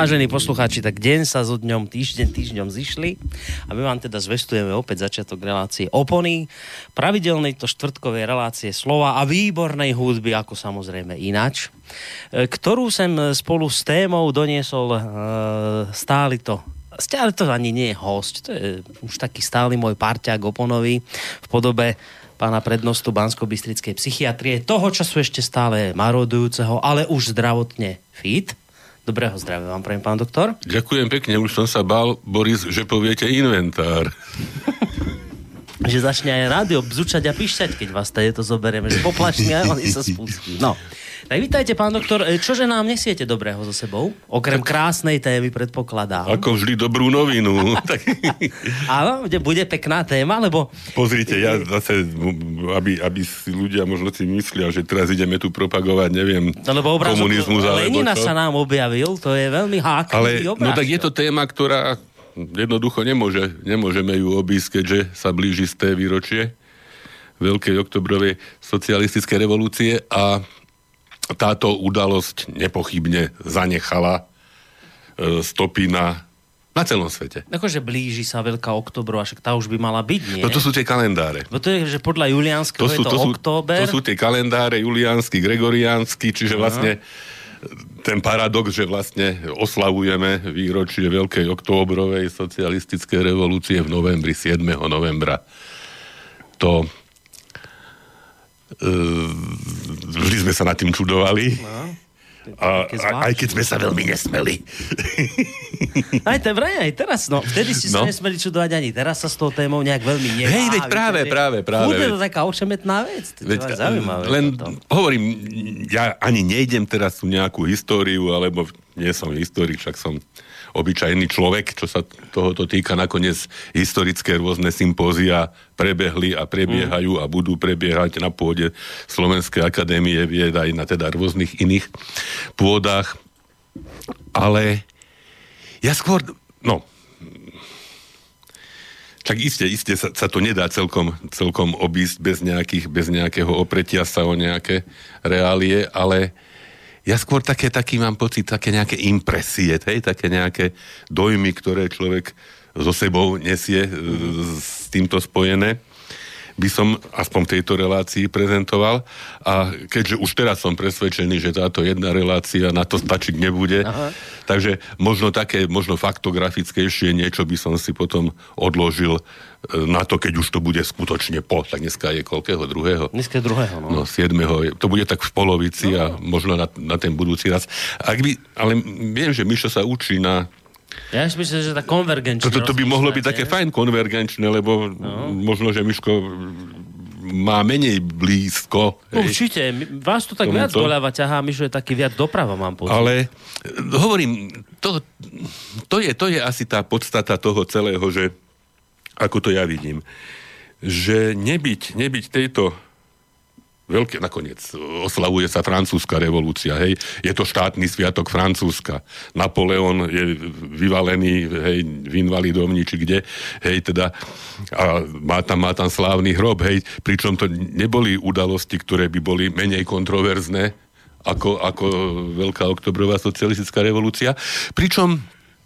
vážení poslucháči, tak deň sa so dňom, týždňom zišli a my vám teda zvestujeme opäť začiatok relácie Opony, pravidelnej to štvrtkovej relácie slova a výbornej hudby, ako samozrejme ináč, ktorú sem spolu s témou doniesol stále to ani nie je host, to je už taký stály môj parťák Oponový v podobe pána prednostu Banskobystrickej psychiatrie, toho času ešte stále marodujúceho, ale už zdravotne fit. Dobrého zdravia vám prajem, pán doktor. Ďakujem pekne, už som sa bál, Boris, že poviete inventár. Že začne aj rádio bzučať a píšťať, keď vás to zoberieme, že poplačne a oni sa spustí. No. Tak vítajte, pán doktor. Čože nám nesiete dobrého so sebou? Okrem krásnej témy, predpokladám. Ako vždy dobrú novinu. Áno, bude pekná téma, lebo... Pozrite, ja zase, aby si ľudia možno si myslia, že teraz ideme tu propagovať, neviem, komunizmus, alebo Lenina sa nám objavil, to je veľmi háklivý obrázok. No tak je to téma, ktorá jednoducho nemôžeme ju obísť, keďže sa blíži 100. výročie Veľkej oktobrovej socialistickej revolúcie a táto udalosť nepochybne zanechala stopy na celom svete. Akože blíži sa Veľká oktobrová, však tá už by mala byť, nie? No to sú tie kalendáre. No to je, že podľa juliánskeho je to október. To sú tie kalendáre juliánsky, gregoriánsky, čiže vlastne ten paradox, že vlastne oslavujeme výročie Veľkej októbrovej socialistickej revolúcie v novembri, 7. novembra. To vždy sme sa nad tým čudovali. No, a aj keď sme sa veľmi nesmeli. Aj teraz, no. Vtedy si sa nesmeli čudovať ani teraz sa s tou témou nejak veľmi nevávi. Hej, veď práve. Je to taká ošemetná vec. To je zaujímavé. Len hovorím, ja ani nejdem teraz tu nejakú históriu, alebo nie som historik, však som obyčajný človek, čo sa tohoto týka. Nakoniec historické rôzne sympózia prebehli a prebiehajú a budú prebiehať na pôde Slovenskej akadémie vied aj na teda rôznych iných pôdach. Ale ja skôr, tak iste sa to nedá celkom obísť bez nejakého opretia sa o nejaké reálie, ale ja skôr taký mám pocit, také nejaké impresie, také nejaké dojmy, ktoré človek so sebou nesie s týmto spojené, by som aspoň v tejto relácii prezentoval. A keďže už teraz som presvedčený, že táto jedna relácia na to stačiť nebude, takže možno faktografickejšie niečo by som si potom odložil na to, keď už to bude skutočne tak dneska je koľkého? Druhého? Dneska je druhého, no. 7. To bude tak v polovici a možno na ten budúci raz. Ale viem, že Mišo sa učí na... Ja si myslím, že tá konvergenčná... To by mohlo byť také fajn konvergenčné, lebo možno, že Miško má menej blízko. Určite. Vás to tak viac doľava ťahá, Mišo je taký viac doprava, mám pocit. Ale hovorím, to je asi tá podstata toho celého, že ako to ja vidím, že nebyť tejto veľké, nakoniec oslavuje sa francúzska revolúcia, hej, je to štátny sviatok Francúzska. Napoleon je vyvalený, hej, v invalidovni, či kde, hej, teda, a má tam slávny hrob, hej, pričom to neboli udalosti, ktoré by boli menej kontroverzné ako Veľká oktobrová socialistická revolúcia, pričom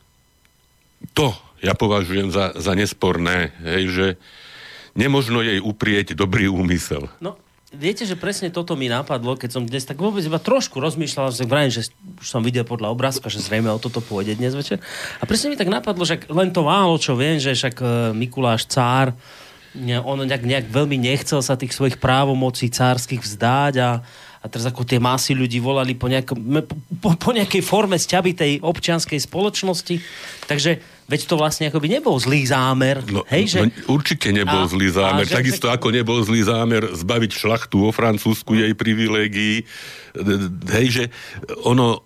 to ja považujem za nesporné, hej, že nemožno jej uprieť dobrý úmysel. No, viete, že presne toto mi napadlo, keď som dnes tak vôbec iba trošku rozmýšľal, že už som videl podľa obrázka, že zrejme o toto pôjde dnes večer. A presne mi tak napadlo, že len to málo, čo viem, že však Mikuláš Cár, on nejak veľmi nechcel sa tých svojich právomocí cárskych vzdať a teraz ako tie masy ľudí volali po nejakej forme sťabitej občianskej spoločnosti. Takže veď to vlastne akoby nebol zlý zámer. Určite nebol zlý zámer. Takisto ako nebol zlý zámer zbaviť šlachtu vo Francúzsku jej privilégií. Hej, že ono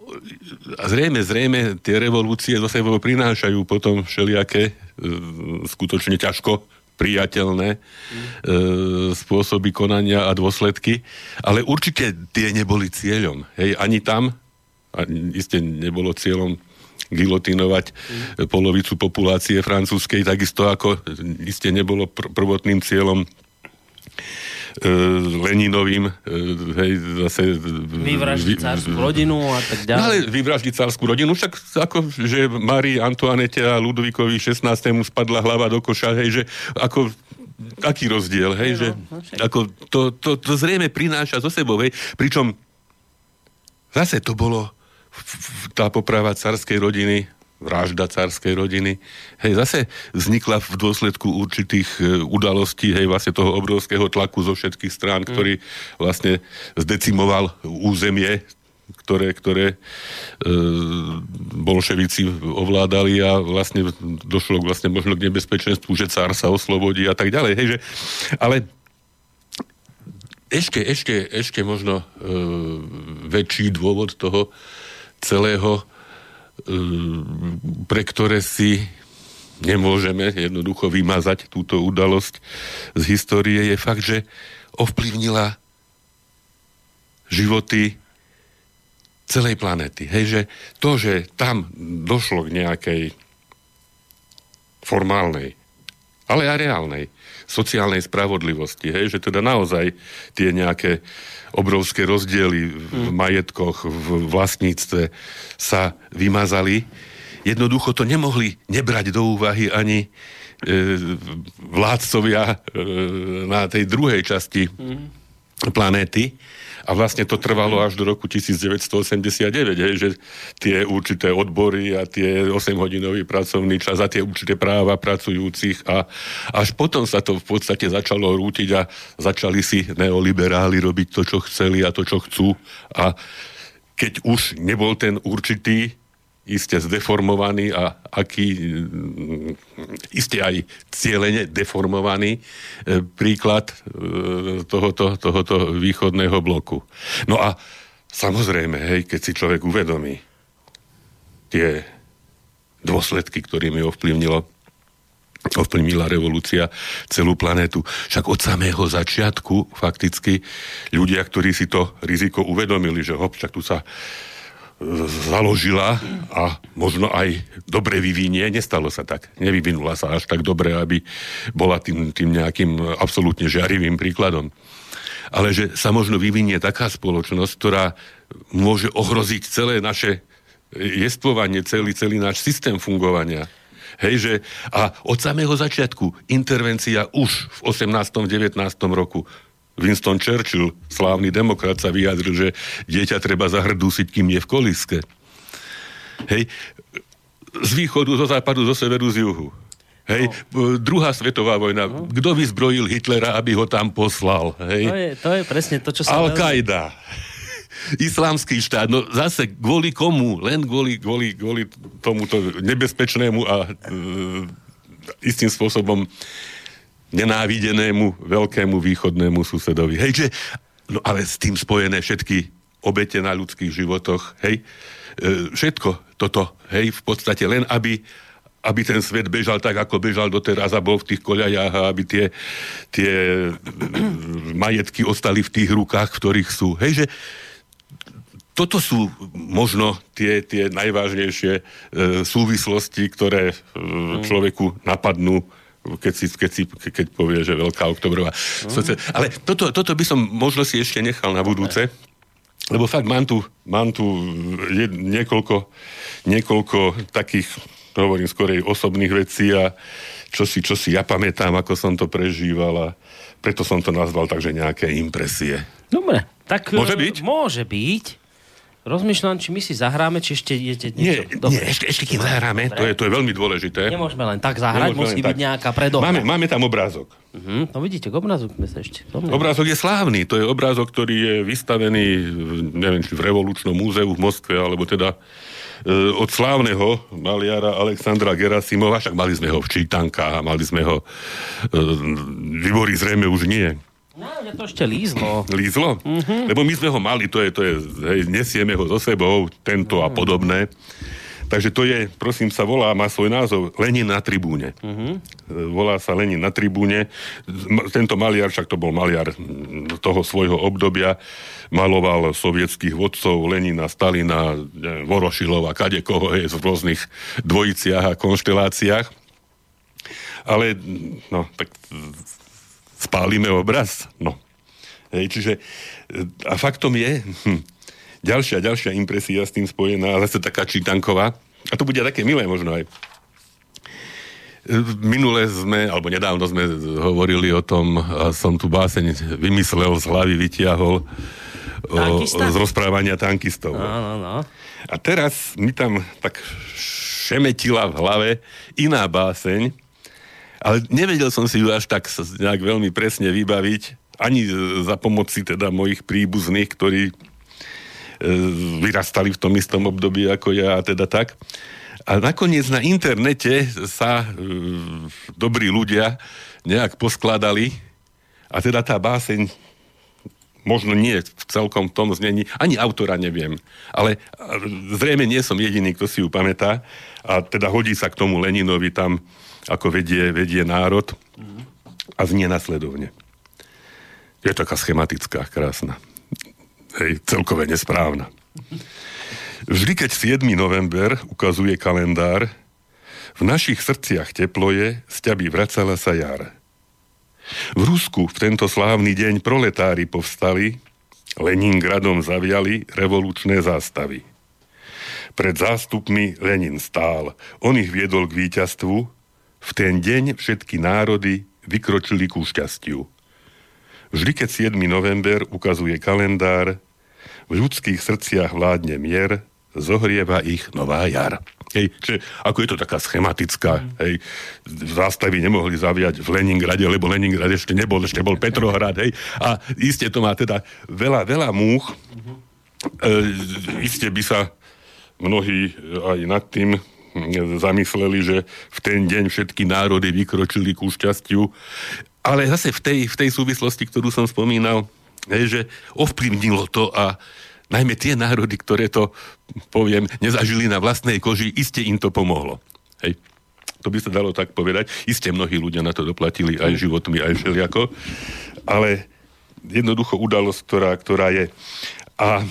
zrejme tie revolúcie zo sebou prinášajú potom všelijaké skutočne ťažko priateľné spôsoby konania a dôsledky, ale určite tie neboli cieľom. Hej, ani tam, iste nebolo cieľom gilotinovať polovicu populácie francúzskej, takisto ako iste nebolo prvotným cieľom Leninovým, hej, zase... Vyvraždiť cárskú rodinu a tak ďalej. No ale vyvraždiť cárskú rodinu, však ako, že Márii Antoinette a Ludvíkovi 16. spadla hlava do koša, hej, že ako... Aký rozdiel, hej, že ako to zrejme prináša zo sebou, hej, pričom zase to bolo tá poprava cárskej rodiny, vražda cárskej rodiny, hej, zase vznikla v dôsledku určitých udalostí, hej, vlastne toho obrovského tlaku zo všetkých strán, ktorý vlastne zdecimoval územie, ktoré bolševici ovládali a vlastne došlo vlastne možno k nebezpečenstvu, že cár sa oslobodí a tak ďalej, hej, že, ale ešte možno väčší dôvod toho celého, pre ktoré si nemôžeme jednoducho vymazať túto udalosť z histórie, je fakt, že ovplyvnila životy celej planéty. Hej, že to, že tam došlo k nejakej formálnej, ale aj reálnej sociálnej spravodlivosti, hej, že teda naozaj tie nejaké obrovské rozdiely v majetkoch, v vlastníctve sa vymazali. Jednoducho to nemohli nebrať do úvahy ani vládcovia na tej druhej časti planéty. A vlastne to trvalo až do roku 1989, hej, že tie určité odbory a tie 8-hodinový pracovný čas a tie určité práva pracujúcich a až potom sa to v podstate začalo rútiť a začali si neoliberáli robiť to, čo chceli a to, čo chcú. A keď už nebol ten určitý iste zdeformovaný a iste aj cieľene deformovaný príklad tohoto východného bloku. No a samozrejme, hej, keď si človek uvedomí tie dôsledky, ktorými ovplyvnila revolúcia celú planetu. Však od samého začiatku fakticky ľudia, ktorí si to riziko uvedomili, že však tu sa založila a možno aj dobre vyvinie. Nestalo sa tak. Nevyvinula sa až tak dobre, aby bola tým nejakým absolútne žiarivým príkladom. Ale že sa možno vyvinie taká spoločnosť, ktorá môže ohroziť celé naše jestvovanie, celý náš systém fungovania. Hej, že a od samého začiatku intervencia už v 18. 19. roku Winston Churchill, slávny demokrat, sa vyjadril, že dieťa treba zahrdúsiť, kým je v kolíske. Hej, z východu, zo západu, zo severu, z juhu. Hej, druhá svetová vojna. Kto vyzbrojil Hitlera, aby ho tam poslal? Hej? To je presne to, čo sa... Al-Qaida. Islamský štát. No zase kvôli komu? Len kvôli tomuto nebezpečnému a istým spôsobom nenávidenému veľkému východnému susedovi. Hej, že, no ale s tým spojené všetky obete na ľudských životoch, hej, všetko toto, hej, v podstate len, aby ten svet bežal tak, ako bežal doteraz a bol v tých koľajách a aby tie majetky ostali v tých rukách, v ktorých sú. Hej, že toto sú možno tie najvážnejšie súvislosti, ktoré človeku napadnú, keď povie, že veľká oktobrová. Ale toto by som možno si ešte nechal na budúce, lebo fakt mám tu niekoľko takých, hovorím skorej osobných vecí a čo si ja pamätám, ako som to prežíval a preto som to nazval takže nejaké impresie. Dobre, tak môže byť? Môže byť. Rozmýšľam, či my si zahráme, či ešte idete niečo. Nie, ešte kým zahráme, to je veľmi dôležité. Nemôžeme len tak zahrať, musí byť nejaká predohra. Máme tam obrázok. No vidíte, k obrázok sme sa ešte. Obrázok je slávny, to je obrázok, ktorý je vystavený, neviem, či v Revolučnom múzeu v Moskve, alebo teda od slávneho maliara Alexandra Gerasimova, však mali sme ho v čítankách, mali sme ho Výbory zrejme už nie. No, že to ešte lízlo. Lízlo? Lebo my sme ho mali, to je hej, nesieme ho so sebou, tento a podobné. Takže to je, prosím sa, má svoj názov Lenin na tribúne. Volá sa Lenin na tribúne. Tento maliar, však to bol maliar toho svojho obdobia, maloval sovietských vodcov, Lenina, Stalina, Vorošilova, kadekoho je v rôznych dvojiciach a konšteláciách. Ale, no, tak spálime obraz? No. Hej, čiže a faktom je, ďalšia impresia s tým spojená, ale zase taká čítanková, a to bude také milé možno aj. Minule nedávno sme hovorili o tom, a som tu báseň vymyslel, z hlavy vytiahol z rozprávania tankistov. No. A teraz mi tam tak šemetila v hlave iná báseň, ale nevedel som si ju až tak nejak veľmi presne vybaviť, ani za pomoci teda mojich príbuzných, ktorí vyrastali v tom istom období ako ja, a teda tak. A nakoniec na internete sa dobrí ľudia nejak poskladali a teda tá báseň možno nie v celkom tom znení, ani autora neviem, ale zrejme nie som jediný, kto si ju pamätá a teda hodí sa k tomu Leninovi tam, ako vedie národ a znie nasledovne. Je taká schematická, krásna. Hej, celkové nesprávna. Vždy, keď 7. november ukazuje kalendár, v našich srdciach teplo je, z ťaby vracala sa jar. V Rusku v tento slávny deň proletári povstali, Leningradom zaviali revolučné zástavy. Pred zástupmi Lenin stál, on ich viedol k víťazstvu, v ten deň všetky národy vykročili ku šťastiu. Vždy, keď 7. november ukazuje kalendár, v ľudských srdciach vládne mier, zohrieva ich nová jar. Hej, čiže ako je to taká schematická, hej, zástavy nemohli zaviať v Leningrade, lebo Leningrad ešte bol Petrohrad, hej, a iste to má teda veľa múch, iste by sa mnohí aj nad tým zamysleli, že v ten deň všetky národy vykročili ku šťastiu, ale zase v tej súvislosti, ktorú som spomínal, hej, že ovplyvnilo to a najmä tie národy, ktoré to, poviem, nezažili na vlastnej koži, iste im to pomohlo. Hej. To by sa dalo tak povedať. Iste mnohí ľudia na to doplatili aj životmi, aj všeliako. Ale jednoducho udalosť, ktorá je. A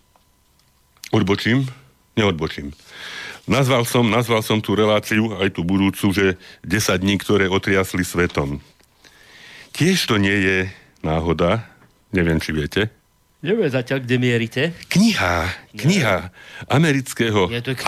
neodbočím. Nazval som tú reláciu, aj tú budúcu, že 10 dní, ktoré otriasli svetom. Tiež to nie je náhoda, neviem, či viete. Neviem zatiaľ, kde mierite. Kniha amerického,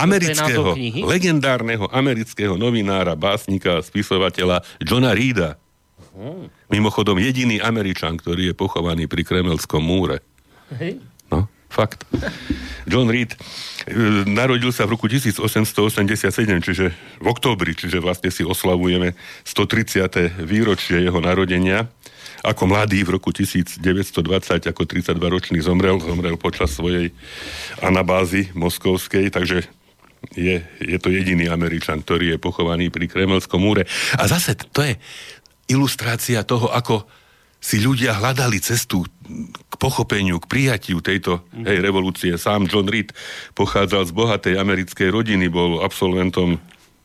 legendárneho amerického novinára, básnika a spisovateľa Johna Reeda. Mimochodom, jediný Američan, ktorý je pochovaný pri Kremelskom múre. Hej. No, fakt. John Reed narodil sa v roku 1887, čiže v októbri, čiže vlastne si oslavujeme 130. výročie jeho narodenia. Ako mladý v roku 1920, ako 32-ročný zomrel počas svojej anabázy moskovskej, takže je to jediný Američan, ktorý je pochovaný pri Kremelskom múre. A zase to je ilustrácia toho, ako si ľudia hľadali cestu k pochopeniu, k prijatiu tejto revolúcie. Sám John Reed pochádzal z bohatej americkej rodiny, bol absolventom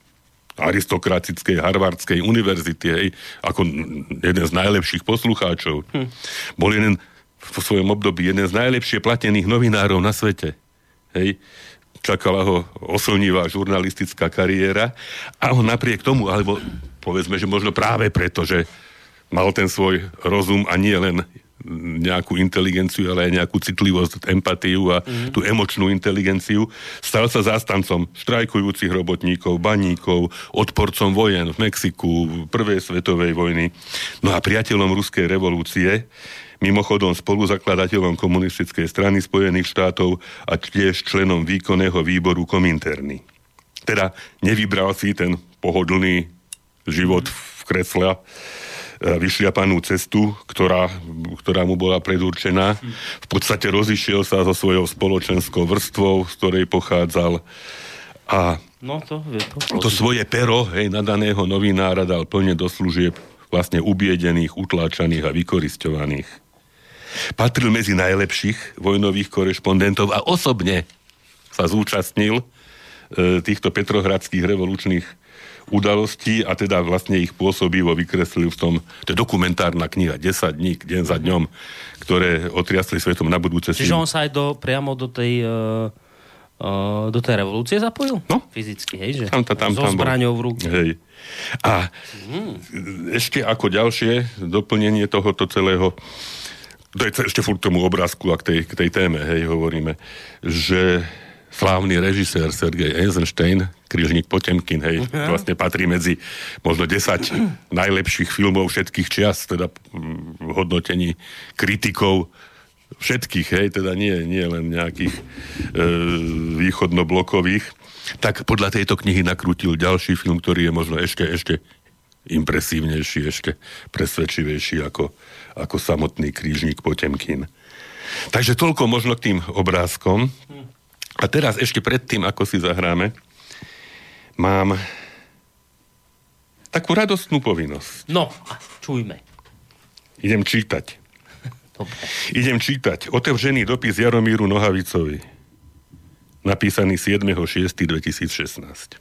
aristokratickej Harvardskej univerzity, hej, ako jeden z najlepších poslucháčov. Bol v svojom období jeden z najlepšie platených novinárov na svete. Hej. Čakala ho oslnivá žurnalistická kariéra a on napriek tomu, alebo povedzme, že možno práve preto, že mal ten svoj rozum a nie len nejakú inteligenciu, ale aj nejakú citlivosť, empatiu a tú emočnú inteligenciu. Stal sa zástancom štrajkujúcich robotníkov, baníkov, odporcom vojen v Mexiku, prvej svetovej vojny. No a priateľom ruskej revolúcie, mimochodom spoluzakladateľom komunistickej strany Spojených štátov a tiež členom výkonného výboru Kominterny. Teda nevybral si ten pohodlný život v kresle, vyšliapanú cestu, ktorá mu bola predurčená. V podstate rozišiel sa so svojou spoločenskou vrstvou, z ktorej pochádzal a to svoje pero, nadaného novinára dal plne do služieb vlastne ubiedených, utláčaných a vykorisťovaných. Patril medzi najlepších vojnových korešpondentov a osobne sa zúčastnil týchto petrohradských revolučných udalostí a teda vlastne ich pôsobivo vykreslil v tom, to je dokumentárna kniha 10 dní, deň za dňom, ktoré otriasli svetom na budúce. Čiže on sa aj priamo do tej do tej revolúcie zapojil? No. Fyzicky, hej? Že Tam so zbraňou v ruke. Hej. A ešte ako ďalšie doplnenie tohoto celého, to je ešte furt tomu obrázku a k tej téme, hej, hovoríme, že slávny režisér Sergej Eisenstein, Krížnik Potemkin, hej, vlastne patrí medzi možno 10 najlepších filmov všetkých čias, teda v hodnotení kritikov všetkých, hej, teda nie len nejakých východnoblokových, tak podľa tejto knihy nakrútil ďalší film, ktorý je možno ešte impresívnejší, ešte presvedčivejší ako samotný Krížnik Potemkin. Takže toľko možno k tým obrázkom. A teraz ešte predtým, ako si zahráme, mám takú radostnú povinnosť. No, čujme. Idem čítať. Dobre. Idem čítať otevřený dopis Jaromíru Nohavicovi, napísaný 7.6.2016.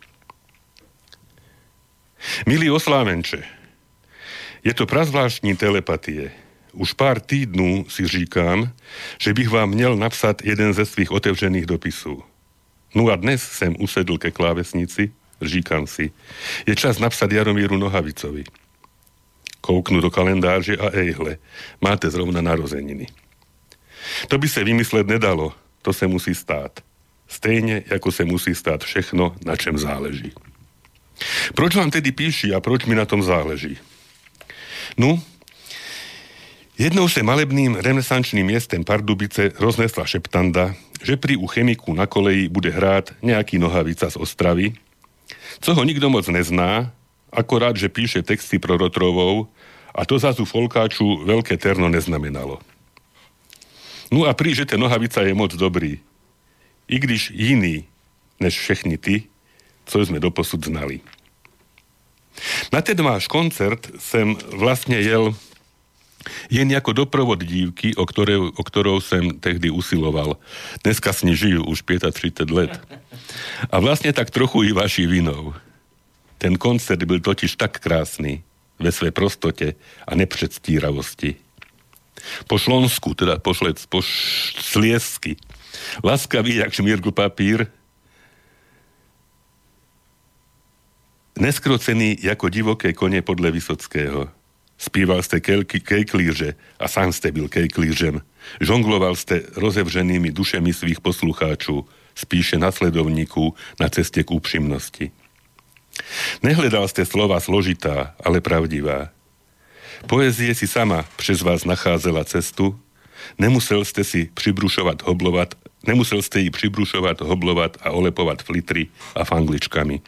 Milý Oslávenče, je to prazvláštní telepatie. Už pár týdnů si říkám, že bych vám měl napsat jeden ze svých otevřených dopisů. No a dnes jsem usedl ke klávesnici, říkám si, je čas napsat Jaromíru Nohavicovi. Kouknu do kalendáře a ejhle, máte zrovna narozeniny. To by se vymyslet nedalo, to se musí stát. Stejně, jako se musí stát všechno, na čem záleží. Proč vám tedy píši a proč mi na tom záleží? No, jednou se malebným renesančným městem Pardubice roznesla šeptanda, že pri u chemiku na koleji bude hrát nějaký Nohavica z Ostravy, co ho nikdo moc nezná, akorát, že píše texty pro Rotrovou a to zase folkáču veľké terno neznamenalo. No a že ten Nohavica je moc dobrý. I když jiný než všechny ty, co sme doposud znali. Na ten váš koncert jsem vlastně jel jen jako doprovod dívky, o ktorou jsem tehdy usiloval. Dneska s ní žiju už 35 let. A vlastně tak trochu i vaší vinou. Ten koncert byl totiž tak krásný ve své prostote a nepředstíravosti. Po šlonsku, teda po sliesky, laskavý jak šmírku papír, neskrocený jako divoké koně podle Vysockého. Spíval ste kejklíže a sám ste byl kejklížem. Žongloval ste rozevřenými dušemi svých poslucháčů, spíše nasledovníků na ceste k úprimnosti. Nehledal ste slova složitá, ale pravdivá. Poezie si sama přes vás nacházela cestu, nemusel ste ji přibrušovať, hoblovat a olepovat flitry a fangličkami.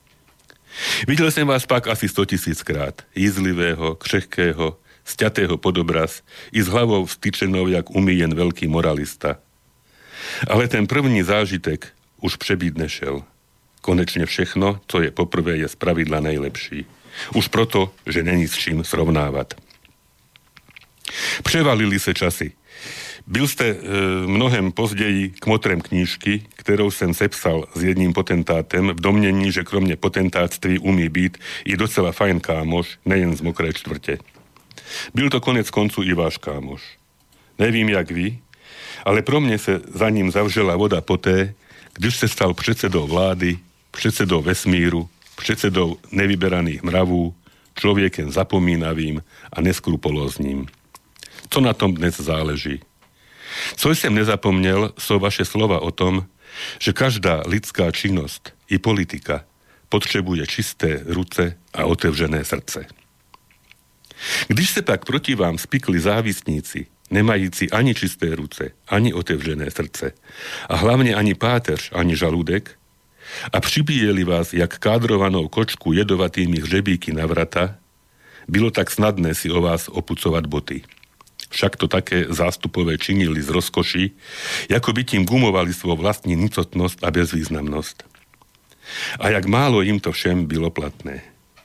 Videl som vás pak asi 100 000 krát, jízlivého, křehkého, sťatého podobraz i s hlavou vstyčenou jak umíjen veľký moralista. Ale ten první zážitek už přebít nešel. Konečne všechno, co je poprvé, je spravidla nejlepší. Už proto, že není s čím srovnávať. Převalili se časy. Byl ste mnohem později kmotrem knížky, kterou jsem sepsal s jedním potentátem v domnění, že kromě potentátství umí být i docela fajn kámoš, nejen z mokré čtvrte. Byl to konec koncu i váš kámoš. Nevím, jak vy, ale pro mne se za ním zavřela voda poté, když se stal předsedou vlády, předsedou vesmíru, předsedou nevyberaných mravů, člověkem zapomínavým a neskrupulózním. Co na tom dnes záleží? Co jsem nezapomněl, jsou vaše slova o tom, že každá lidská činnost i politika potřebuje čisté ruce a otevřené srdce. Když se pak proti vám spikli závisníci, nemající ani čisté ruce, ani otevřené srdce a hlavně ani páteř, ani žaludek a přibíjeli vás jak kádrovanou kočku jedovatými hřebíky na vrata, bylo tak snadné si o vás opucovat boty. Však to také zástupové činili z rozkoší, jako by tím gumovali svou vlastní nicotnosť a bezvýznamnosť. A jak málo im to všem bylo platné.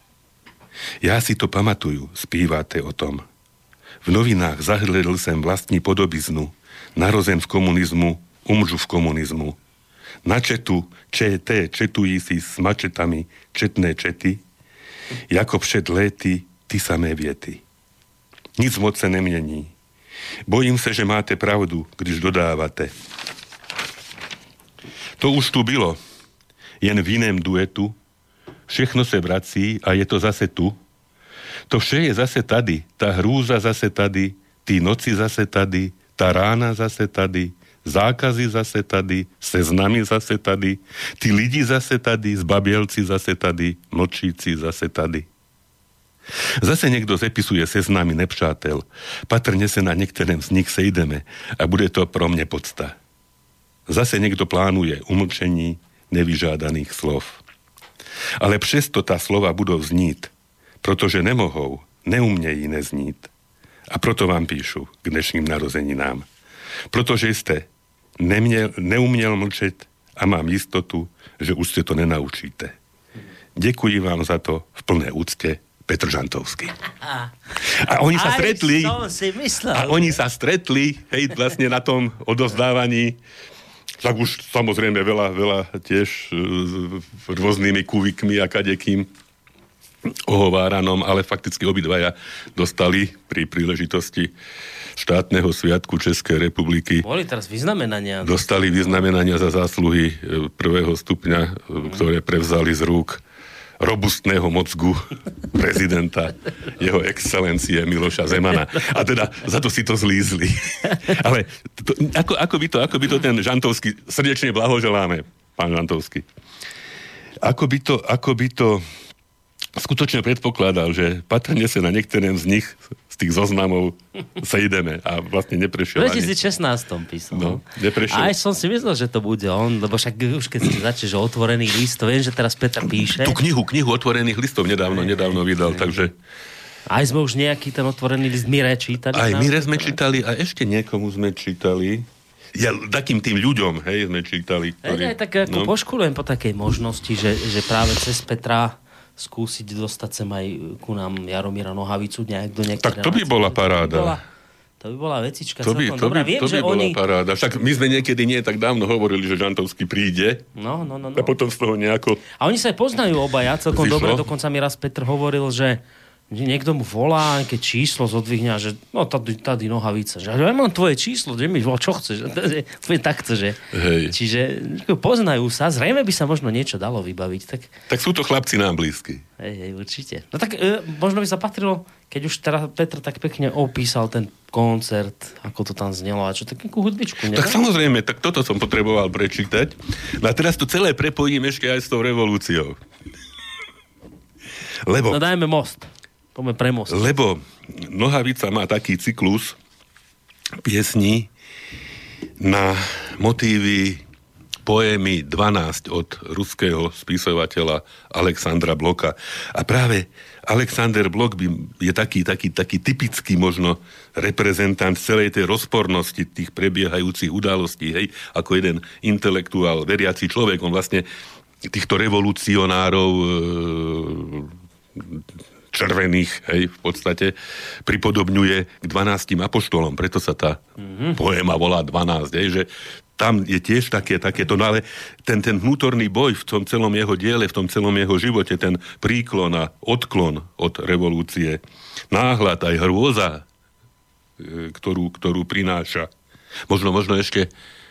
Ja si to pamatuju, spívate o tom. V novinách zahledl sem vlastní podobiznu, narozen v komunizmu, umřu v komunizmu. Na četu, četují si s mačetami četné čety, jako před léty ty samé věty. Nic moc se nemění. Bojím se, že máte pravdu, když dodávate. To už tu bylo. Jen v jiném duetu. Všechno se vrací a je to zase tu. To vše je zase tady. Ta hrůza zase tady. Ty noci zase tady. Ta rána zase tady. Zákazy zase tady. Seznamy zase tady. Ty lidi zase tady. Zbabělci zase tady. Mlčíci zase tady. Zase někdo zepisuje seznamy nepřátel. Patrně se na některém z nich sejdeme a bude to pro mě podsta. Zase někdo plánuje umlčení nevyžádaných slov. Ale přesto ta slova budou znít, protože nemohou, neumějí neznít. A proto vám píšu k dnešním narozeninám. Protože jste neuměl mlčet a mám jistotu, že už se to nenaučíte. Děkuji vám za to v plné úctě. Petr Žantovský. A oni sa stretli. A oni sa stretli, hej, vlastne na tom odovzdávaní. Tak už samozrejme veľa tiež rôznymi kuvikmi a kadekým ohováranom, ale fakticky obidvaja dostali pri príležitosti štátneho sviatku Českej republiky. Boli teraz vyznamenania. Dostali vyznamenania za zásluhy prvého stupňa, ktoré prevzali z rúk robustného mozgu prezidenta jeho excelencie Miloša Zemana. A teda za to si to zlízli. Ale ako by to ten Žantovský, srdečne blahoželáme, pán Žantovský. Ako by to skutočne predpokladal, že patrne sa na niektorém z nich, z tých zoznamov, sejdeme a vlastne neprešiel ani. V 2016 písal. No, neprešiel. A aj som si myslel, že to bude on, lebo však už keď si začneš otvorený list, to viem, že teraz Peter píše. Tú knihu otvorených listov nedávno vydal, takže... Aj sme už nejaký ten otvorený list Mire čítali. Aj Mire sme čítali a ešte niekomu sme čítali. Ja, takým tým ľuďom, hej, sme čítali. Aj tak ako poškulujem po takej možnosti, že práve cez Petra skúsiť dostať sem aj ku nám Jaromíra Nohavicu nejak do nejakej Tak to by bola paráda. To by bola vecička celkom dobrá. Viem, že bola paráda. Však my sme niekedy nie tak dávno hovorili, že Žantovský príde. No. A potom z toho nejako... A oni sa aj poznajú obaja celkom dobre. Dokonca mi raz Petr hovoril, že niekto mu volá, keď číslo zodvihňa, že no tady Nohavica. Že ja mám tvoje číslo, že mi čo chceš? Tak chce, že? Hej. Čiže poznajú sa. Zrejme by sa možno niečo dalo vybaviť. Tak sú to chlapci nám blízky. Hej, určite. No tak možno by sa patrilo, keď už teraz Petr tak pekne opísal ten koncert, ako to tam znelo a čo, takú hudbičku, ne? Tak samozrejme, tak toto som potreboval prečítať. No a teraz to celé prepojím ešte aj s tou revolúciou. No dajme most. Poďme pre most. Lebo Nohavica má taký cyklus piesní na motívy poémy 12 od ruského spisovateľa Alexandra Bloka. A práve Alexander Blok je taký typický možno reprezentant celej tej rozpornosti tých prebiehajúcich udalostí, hej, ako jeden intelektuál, veriaci človek. On vlastne týchto revolucionárov červených, hej, v podstate pripodobňuje k 12 apoštolom. Preto sa tá poéma volá 12, hej, že tam je tiež takéto, no ale ten vnútorný boj v tom celom jeho diele, v tom celom jeho živote, ten príklon a odklon od revolúcie, náhľad aj hrôza, ktorú prináša. Možno ešte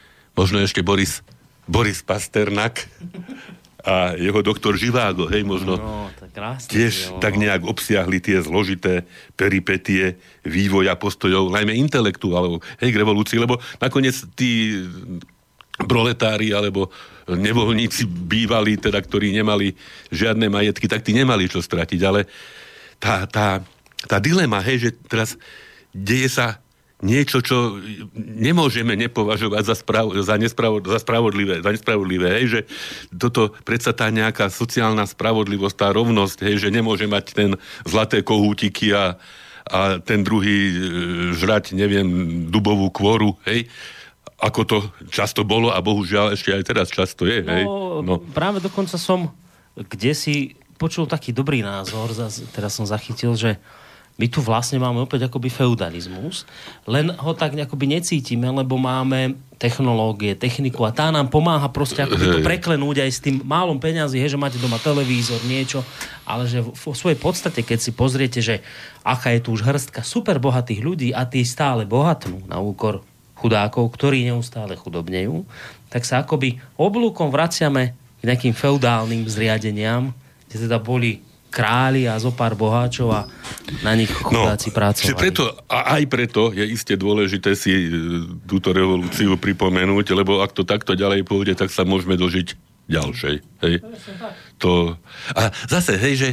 Boris Pasternak a jeho doktor Živágo, hej, možno tiež tak nejak obsiahli tie zložité peripetie vývoja postojov, najmä intelektuálov, hej, k revolúcii, lebo nakoniec tí proletári alebo nevoľníci bývali, teda, ktorí nemali žiadne majetky, tak tí nemali čo stratiť, ale tá dilema, hej, že teraz deje sa niečo, čo nemôžeme nepovažovať za nespravodlivé, hej, že toto predsa tá nejaká sociálna spravodlivosť, tá rovnosť, hej, že nemôže mať ten zlaté kohútiky a ten druhý žrať, neviem, dubovú kôru, hej, ako to často bolo a bohužiaľ ešte aj teraz často je, hej. No. Práve dokonca som kdesi počul taký dobrý názor, teraz som zachytil, že my tu vlastne máme opäť akoby feudalizmus, len ho tak akoby necítime, lebo máme technológie, techniku a tá nám pomáha proste akoby to preklenúť aj s tým málom peňazí, že máte doma televízor, niečo, ale že v svojej podstate, keď si pozriete, že aká je tu už hrstka super bohatých ľudí a tí stále bohatnú na úkor chudákov, ktorí neustále chudobnejú, tak sa akoby oblúkom vraciame k nejakým feudálnym zriadeniam, kde teda boli králi a zopár boháčov a na nich chudáci pracovali. Aj preto je iste dôležité si túto revolúciu pripomenúť, lebo ak to takto ďalej pôjde, tak sa môžeme dožiť ďalšej. Hej? A zase, že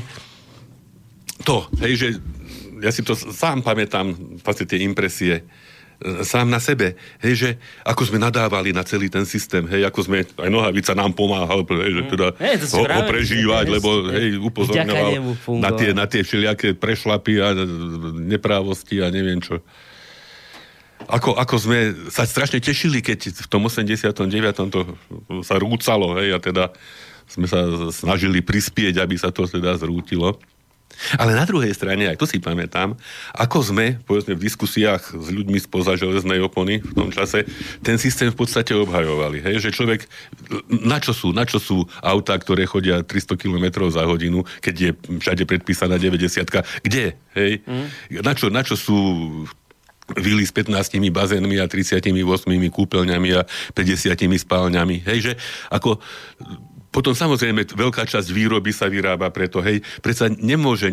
ja si to sám pamätám, vlastne tie impresie, sám na sebe, že ako sme nadávali na celý ten systém, ako sme, aj Nohavica nám pomáhal, že teda ho prežívať, lebo upozorňoval na tie všelijaké prešlapy a neprávosti a neviem čo. Ako sme sa strašne tešili, keď v tom 89. to sa rúcalo, a teda sme sa snažili prispieť, aby sa to teda zrútilo. Ale na druhej strane, aj to si pamätám, ako sme, povedzme, v diskusiách s ľuďmi spoza železnej opony v tom čase, ten systém v podstate obhajovali. Že človek, na čo sú autá, ktoré chodia 300 km za hodinu, keď je všade predpísaná 90-ka? Kde? Na čo sú vily s 15 bazénmi a 38 kúpeľňami a 50 spálňami? Že ako... Potom samozrejme veľká časť výroby sa vyrába preto, predsa nemôže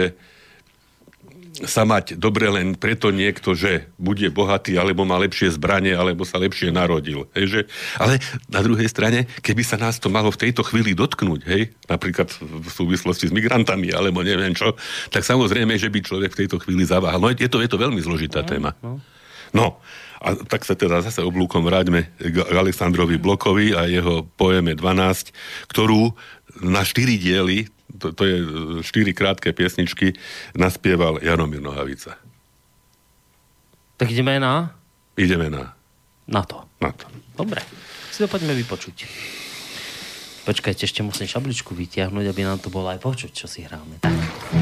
sa mať dobre len preto niekto, že bude bohatý, alebo má lepšie zbranie, alebo sa lepšie narodil. Ale na druhej strane, keby sa nás to malo v tejto chvíli dotknúť, napríklad v súvislosti s migrantami, alebo neviem čo, tak samozrejme, že by človek v tejto chvíli zaváhal. No je to veľmi zložitá téma. No, a tak sa teda zase oblúkom vráťme k Alexandrovi Blokovi a jeho poeme 12, ktorú na 4 diely, to je 4 krátke piesničky, naspieval Jaromír Nohavica. Tak ideme na? Ideme na to. Dobre, si to poďme vypočuť. Počkajte, ešte musím šabličku vytiahnuť, aby nám to bolo aj počuť, čo si hráme. Tak.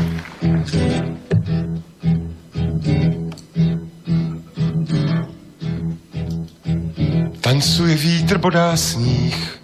Tancuje vítr, bodá sníh,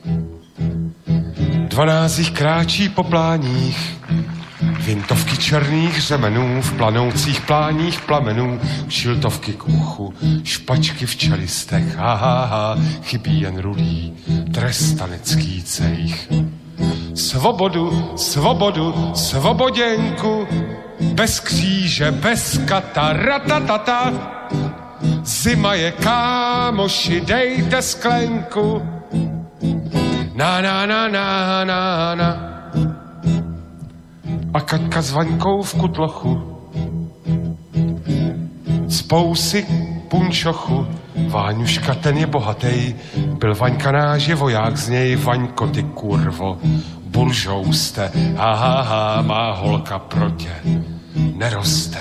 12 jich kráčí po pláních, vintovky černých řemenů, v planoucích pláních plamenů, šiltovky k uchu, špačky v čelistech, chybí jen rudý trestanecký cejch. Svobodu, svobodu, svoboděnku, bez kříže, bez kata, ratatata. Zima je, kámoši, dejte sklenku. Na. A Kaťka s Vaňkou v kutlochu, spou si punčochu. Váňuška, ten je bohatej, byl Vaňka náš je voják z něj. Vaňko, ty kurvo, buržou jste, má holka pro tě neroste.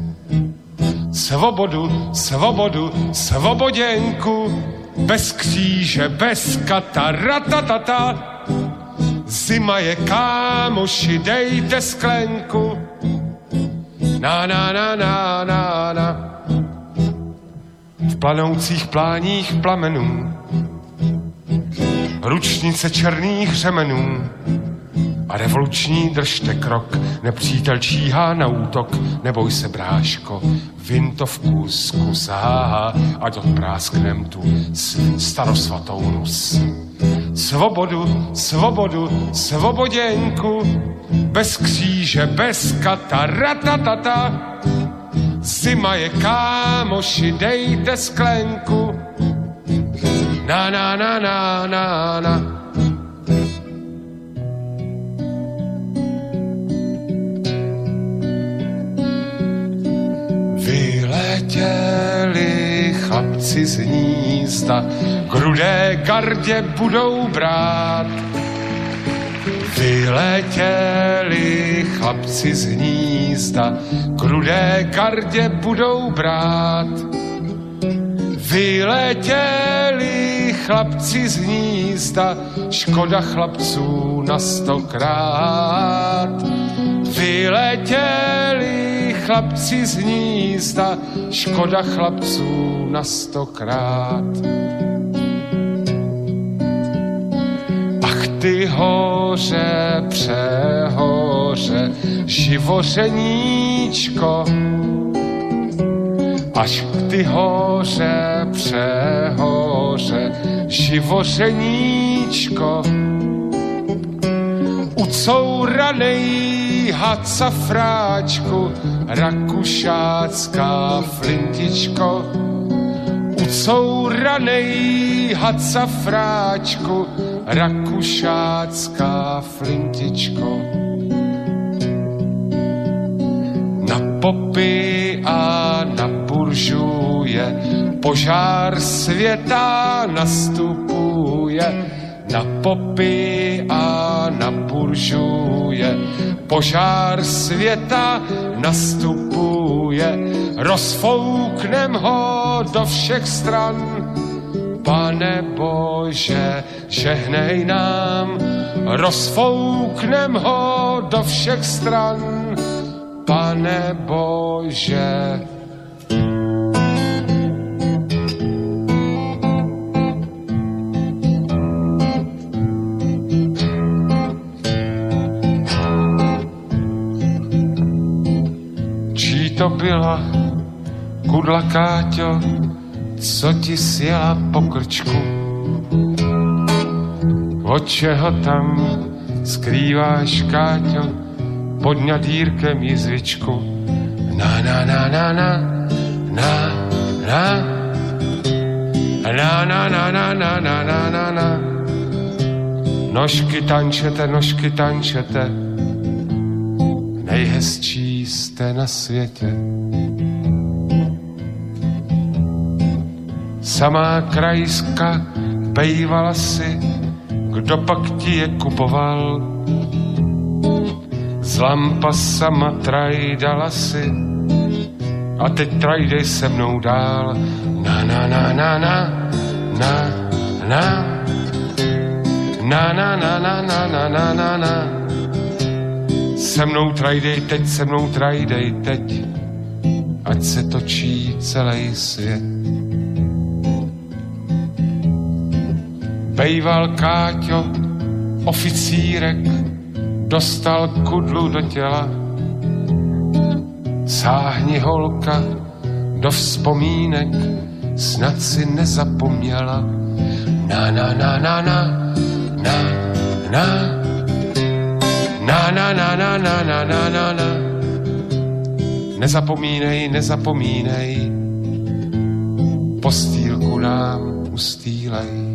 Svobodu, svobodu, svoboděnku, bez kříže, bez kata, ratatata. Zima je, kámoši, dejte sklenku. Na. V planoucích pláních plamenů, ručnice černých řemenů a revoluční držte krok. Nepřítel číhá na útok, neboj se, bráško, vintovku zkus, ať odprásknem tu starosvatou nus. Svobodu, svobodu, svoboděnku, bez kříže, bez kata, ratatata. Zima je, kámoši, dejte sklenku. Na. Vyletěli chlapci z hnízda, k rudé gardě budou brát. Vyletěli chlapci z hnízda, k rudé gardě budou brát. Vyletěli chlapci z hnízda, škoda chlapců na 100krát. Vyletěli chlapci z hnízda, škoda chlapců na 100krát. Ach ty hoře, přehoře, živořeníčko, až k ty hoře přehoře, živořeníčko. Ucouranej had safráčku, rakušácká flintičko. Ucouranej had safráčku, rakušácká flintičko. Na popy a na buržuje požár světa nastupuje. Na popy a na buržuje požár světa nastupuje. Rozfouknem ho do všech stran. Pane Bože, žehnej nám. Rozfouknem ho do všech stran. Pane Bože. Čí to byla kudla, Káťo, co ti sjela po krčku? Od čeho tam skrýváš, Káťo, pod ňadírkem jizvičku? Na, na, na, na, na, na, na, na, na, na, na, na, na, na, na, na. Nožky tančete, nejhezčí jste na světě. Samá krajska bejvala si, kdo pak ti je kupoval. Z lampasama trajdala si a teď trajdej se mnou dál. Na, na, na, na, na, na, na, na, na, na, na, na, na, na, na, na. Se mnou trajdej teď, ať se točí celý svět. Bejval Káťo, oficírek, dostal kudlu do těla. Sáhni, holka, do vzpomínek, snad si nezapomněla. Na, na, na, na, na, na, na, na, na, na, na, na, na, na, na, na. Nezapomínej, postýlku nám ustýlej.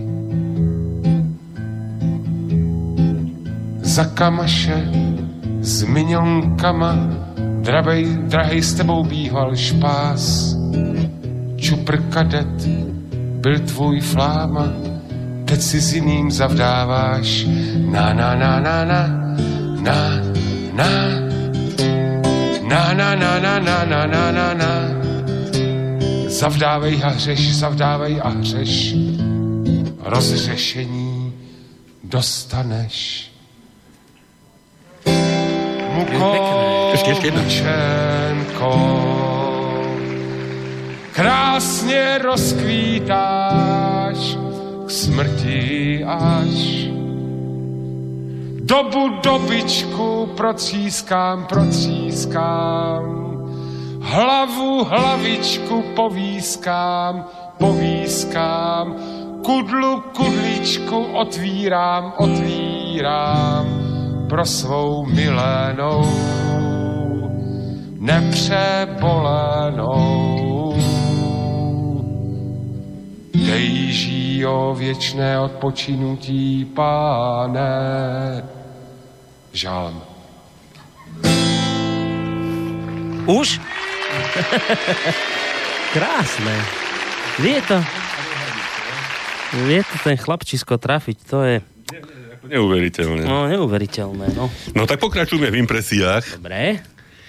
Za kamaše s minionkama, drahej s tebou býval špás. Čupr kadet byl tvůj fláma, teď si s jiným zavdáváš. Na, na, na, na, na, na, na, na, na, na, na, na, na, na, na, na. Zavdávej a hřeš, rozřešení dostaneš. Mukočenko, krásně rozkvítáš k smrti až. Dobičku procískám, hlavičku povískám, kudličku otvírám, pro svou milenou, nepřebolenou. Dej jí o věčné odpočinutí, Páne. Žálm. Už? Krásne. Vie to ten chlapčisko trafiť, to je... Neuveriteľné. No, neuveriteľné, no. No tak pokračujeme v impresiách. Dobre.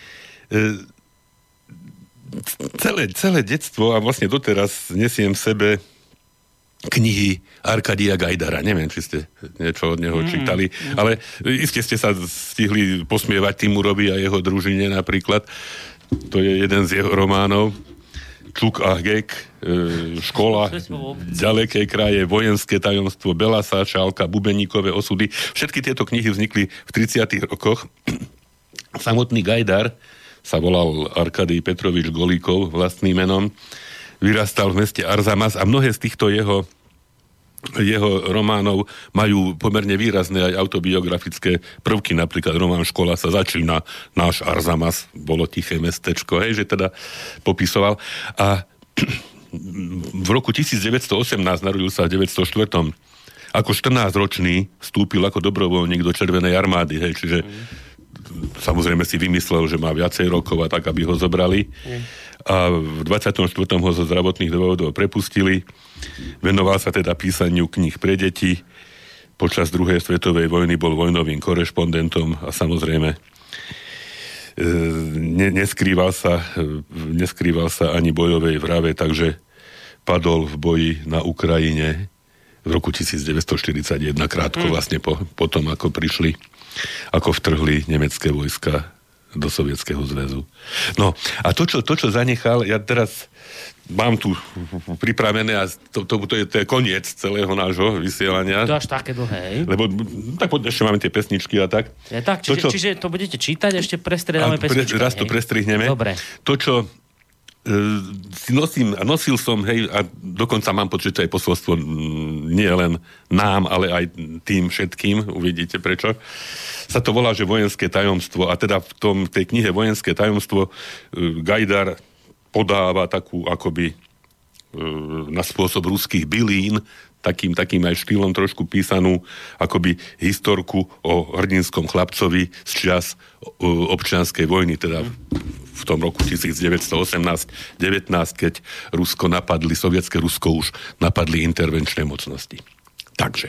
Celé detstvo a vlastne doteraz nesiem v sebe knihy Arkadia Gajdara. Neviem, či ste niečo od neho čítali, ale iste ste sa stihli posmievať Timurovi a jeho družine napríklad. To je jeden z jeho románov. Čuk a Gek, škola, ďalekej kraje, vojenské tajomstvo, Belasa, Šálka, Bubeníkové osudy. Všetky tieto knihy vznikli v 30. rokoch. Samotný Gajdar sa volal Arkadij Petrovič Golíkov vlastným menom. Vyrastal v meste Arzamas a mnohé z týchto jeho románov majú pomerne výrazné aj autobiografické prvky, napríklad román Škola sa začína, náš Arzamas, bolo tiché mestečko, hej, že teda popisoval. A v roku 1918 narodil sa v 904. Ako 14-ročný vstúpil ako dobrovoľník do Červenej armády, hej, čiže samozrejme si vymyslel, že má viacej rokov a tak, aby ho zobrali. A v 24. ho zo zdravotných dôvodov prepustili. Venoval sa teda písaniu kníh pre deti. Počas druhej svetovej vojny bol vojnovým korešpondentom a samozrejme neskrýval sa ani bojovej vrave, takže padol v boji na Ukrajine v roku 1941, krátko vlastne po tom, ako vtrhli nemecké vojska do Sovietskeho zväzu. No, a to, čo zanechal, ja teraz mám tu pripravené a to je koniec celého nášho vysielania. To až také dlhé, lebo tak ešte máme tie pesničky a tak. Ja, tak čiže to budete čítať, ešte prestriedáme pesničky. Raz to prestrihneme. Dobre. To, čo nosil som, hej, a dokonca mám pocit, že aj posolstvo nie len nám, ale aj tým všetkým, uvidíte prečo. Sa to volá, že vojenské tajomstvo, a teda v tej knihe Vojenské tajomstvo Gajdar podáva takú akoby na spôsob ruských bylín, takým aj štýlom trošku písanú akoby historku o hrdinskom chlapcovi z čias občianskej vojny, teda v tom roku 1918-19, keď sovietské Rusko už napadli intervenčné mocnosti. Takže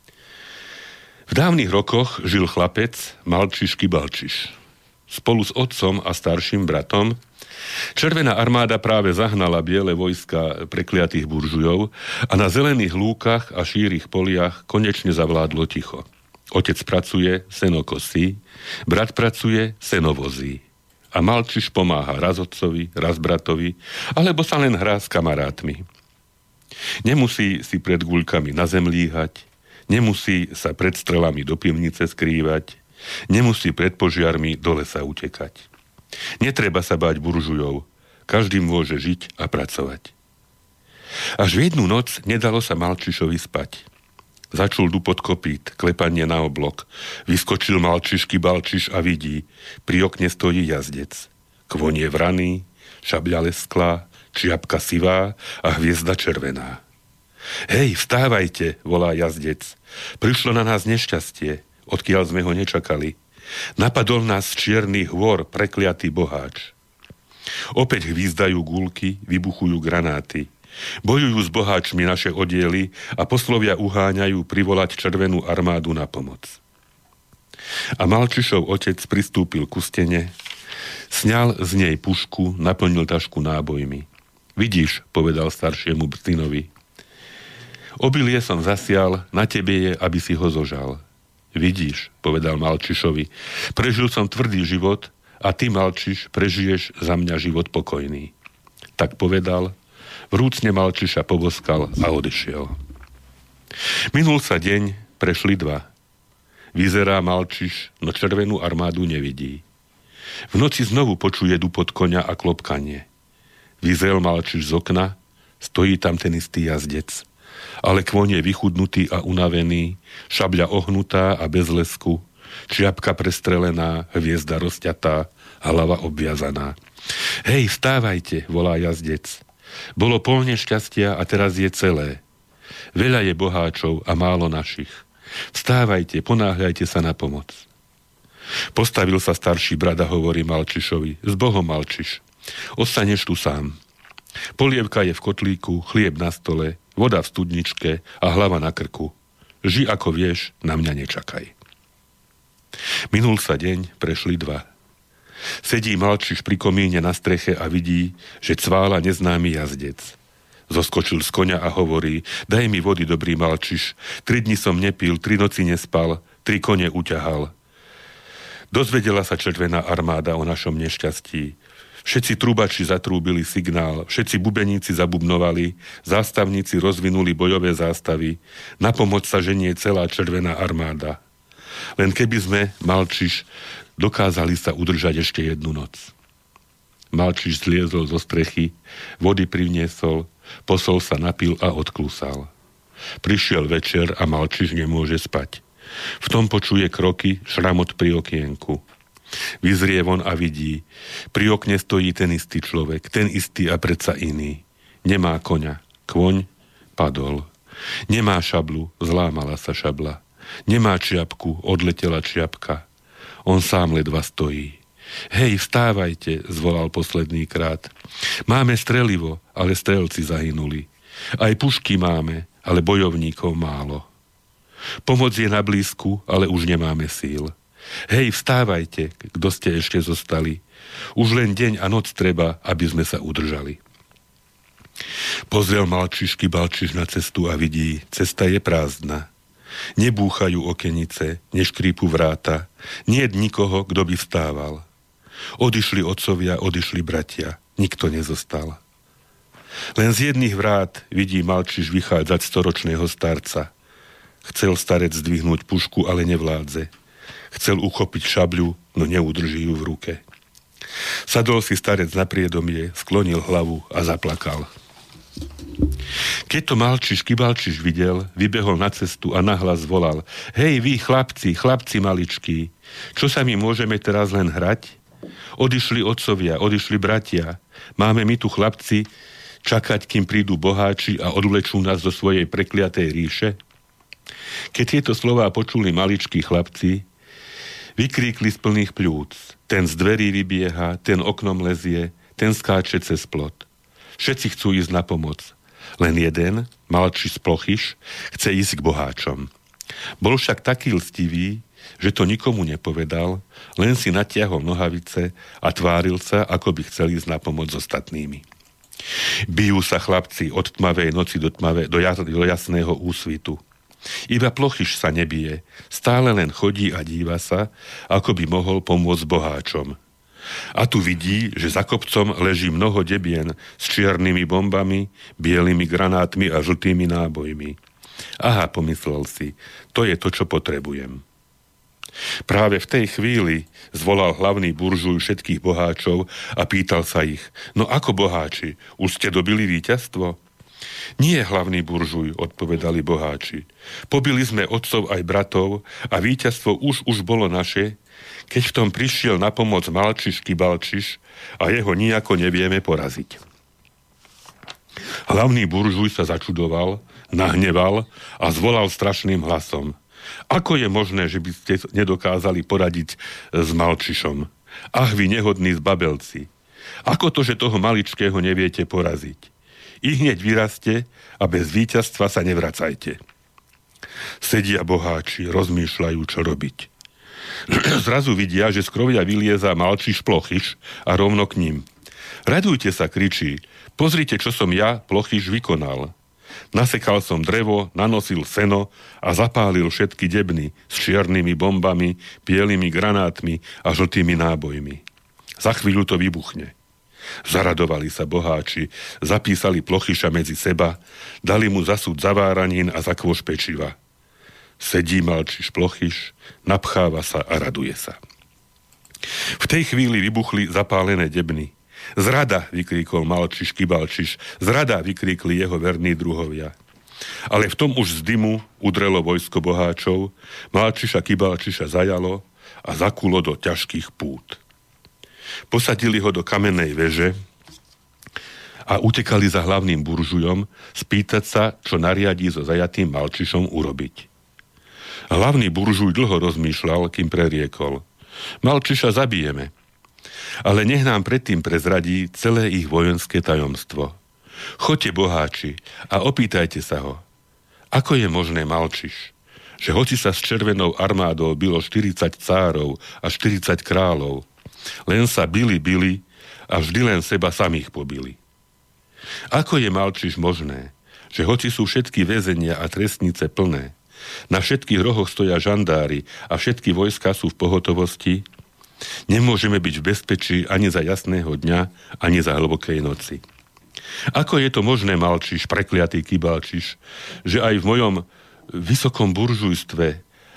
v dávnych rokoch žil chlapec Malčiš Kibalčiš. Spolu s otcom a starším bratom Červená armáda práve zahnala biele vojska prekliatých buržujov a na zelených lúkach a šírých poliach konečne zavládlo ticho. Otec pracuje, seno kosí, brat pracuje, seno vozí. A Malčiš pomáha raz otcovi, raz bratovi, alebo sa len hrá s kamarátmi. Nemusí si pred guľkami na zem líhať, nemusí sa pred strelami do pivnice skrývať, nemusí pred požiarmi do lesa utekať. Netreba sa báť buržujov, každý môže žiť a pracovať. Až v jednu noc nedalo sa Malčišovi spať. Začul dupot kopít, klepanie na oblok. Vyskočil Malčiš Kibalčiš a vidí, pri okne stojí jazdec. Kvon je vraný, šabľa lesklá, čiapka sivá a hviezda červená. Hej, vstávajte, volá jazdec. Prišlo na nás nešťastie, odkiaľ sme ho nečakali. Napadol nás z čiernych hôr prekliatý boháč. Opäť hvízdajú gulky, vybuchujú granáty. Bojujú s boháčmi naše oddiely a poslovia uháňajú privolať Červenú armádu na pomoc. A Malčišov otec pristúpil ku stene, sňal z nej pušku, naplnil tašku nábojmi. Vidíš, povedal staršiemu synovi, obilie som zasial, na tebe je, aby si ho zožal. Vidíš, povedal Malčišovi, prežil som tvrdý život a ty, Malčiš, prežiješ za mňa život pokojný. Tak povedal, vrúcne Malčiša poboskal a odišiel. Minul sa deň, prešli dva. Vyzerá Malčiš, no Červenú armádu nevidí. V noci znovu počuje dupot koňa a klopkanie. Vyzrel Malčiš z okna, stojí tam ten istý jazdec. Ale kvon je vychudnutý a unavený, šabľa ohnutá a bez lesku, čiapka prestrelená, hviezda rozťatá, hlava obviazaná. Hej, vstávajte, volá jazdec. Bolo pol nešťastia a teraz je celé. Veľa je boháčov a málo našich. Vstávajte, ponáhľajte sa na pomoc. Postavil sa starší brat a hovorí Malčišovi, s Bohom, Malčiš, ostaneš tu sám. Polievka je v kotlíku, chlieb na stole, voda v studničke a hlava na krku. Ži ako vieš, na mňa nečakaj. Minul sa deň, prešli dva. Sedí Malčiš pri komíne na streche a vidí, že cvála neznámy jazdec. Zoskočil z koňa a hovorí, daj mi vody, dobrý Malčiš, 3 dni som nepil, 3 noci nespal, 3 kone uťahal. Dozvedela sa Červená armáda o našom nešťastí. Všetci trubači zatrúbili signál, všetci bubeníci zabubnovali, zástavníci rozvinuli bojové zástavy, na pomoc sa ženie celá Červená armáda. Len keby sme, Malčiš, dokázali sa udržať ešte jednu noc. Malčiš zliezol zo strechy, vody priniesol, posol sa napil a odklúsal. Prišiel večer a Malčiš nemôže spať. V tom počuje kroky, šramot pri okienku. Vyzrie von a vidí. Pri okne stojí ten istý človek, ten istý a predsa iný. Nemá koňa. Kôň padol. Nemá šablu, zlámala sa šabla. Nemá čiapku, odletela čiapka. On sám ledva stojí. Hej, vstávajte, zvolal posledný krát. Máme strelivo, ale strelci zahynuli. Aj pušky máme, ale bojovníkov málo. Pomoc je na blízku, ale už nemáme síl. Hej, vstávajte, kto ste ešte zostali. Už len deň a noc treba, aby sme sa udržali. Pozrel Malčiš Kibalčiš na cestu a vidí, cesta je prázdna. Nebúchajú okenice, neškrípu vráta, niet nikoho, kto by vstával. Odišli otcovia, odišli bratia, nikto nezostal. Len z jedných vrát vidí Malčiš vychádzať storočného starca. Chcel starec zdvihnúť pušku, ale nevládze. Chcel uchopiť šabľu, no neudrží ju v ruke. Sadol si starec na priedomie, sklonil hlavu a zaplakal. Keď to Malčiš Kibalčiš videl, vybehol na cestu a nahlas volal: Hej vy chlapci, chlapci maličkí, čo sa my môžeme teraz len hrať? Odišli otcovia, odišli bratia. Máme my tu chlapci čakať, kým prídu boháči a odvlečú nás do svojej prekliatej ríše? Keď tieto slová počuli maličkí chlapci, vykríkli z plných pľúc. Ten z dverí vybieha, ten oknom lezie, ten skáče cez plot. Všetci chcú ísť na pomoc. Len jeden, Malčiš Plochyš, chce ísť k boháčom. Bol však taký lstivý, že to nikomu nepovedal, len si natiahol nohavice a tváril sa, ako by chcel ísť na pomoc s ostatnými. Bijú sa chlapci od tmavej noci do jasného úsvitu. Iba Plochyš sa nebije, stále len chodí a díva sa, ako by mohol pomôcť boháčom. A tu vidí, že za kopcom leží mnoho debien s čiernymi bombami, bielými granátmi a žltými nábojmi. Aha, pomyslel si, to je to, čo potrebujem. Práve v tej chvíli zvolal hlavný buržuj všetkých boháčov a pýtal sa ich: No ako boháči, už ste dobili víťazstvo? Nie, hlavný buržuj, odpovedali boháči. Pobili sme otcov aj bratov a víťazstvo už bolo naše, keď v tom prišiel na pomoc Malčiš Kibalčiš a jeho nijako nevieme poraziť. Hlavný buržuj sa začudoval, nahneval a zvolal strašným hlasom: Ako je možné, že by ste nedokázali poradiť s Malčišom? Ach, vy nehodní zbabelci! Ako to, že toho maličkého neviete poraziť? I hneď vyraste a bez víťazstva sa nevracajte. Sedia boháči, rozmýšľajú, čo robiť. Zrazu vidia, že z krovia vylieza Malčiš Plochyš a rovno k ním. Radujte sa, kričí. Pozrite, čo som ja, Plochyš, vykonal. Nasekal som drevo, nanosil seno a zapálil všetky debny s čiernymi bombami, bielými granátmi a žltými nábojmi. Za chvíľu to vybuchne. Zaradovali sa boháči, zapísali Plochyša medzi seba, dali mu zasúť zaváranín a zakôš pečiva. Sedí Malčiš Plochyš, napcháva sa a raduje sa. V tej chvíli vybuchli zapálené debny. Zrada, vykríkol Malčiš Kibalčiš, zrada, vykríkli jeho verní druhovia. Ale v tom už z dymu udrelo vojsko boháčov, Malčiša Kibalčiša zajalo a zakulo do ťažkých pút. Posadili ho do kamennej veže a utekali za hlavným buržujom spýtať sa, čo nariadí so zajatým Malčišom urobiť. Hlavný buržuj dlho rozmýšľal, kým preriekol: Malčiša zabijeme, ale nech nám predtým prezradí celé ich vojenské tajomstvo. Choďte, boháči, a opýtajte sa ho, ako je možné, Malčiš, že hoci sa s červenou armádou bylo 40 cárov a 40 kráľov, len sa bili a vždy len seba samých pobili. Ako je, Malčiš, možné, že hoci sú všetky väzenia a trestnice plné, na všetkých rohoch stoja žandári a všetky vojská sú v pohotovosti, nemôžeme byť v bezpečí ani za jasného dňa, ani za hlbokej noci. Ako je to možné, Malčiš, prekliatý Kibalčiš, že aj v mojom vysokom buržujstve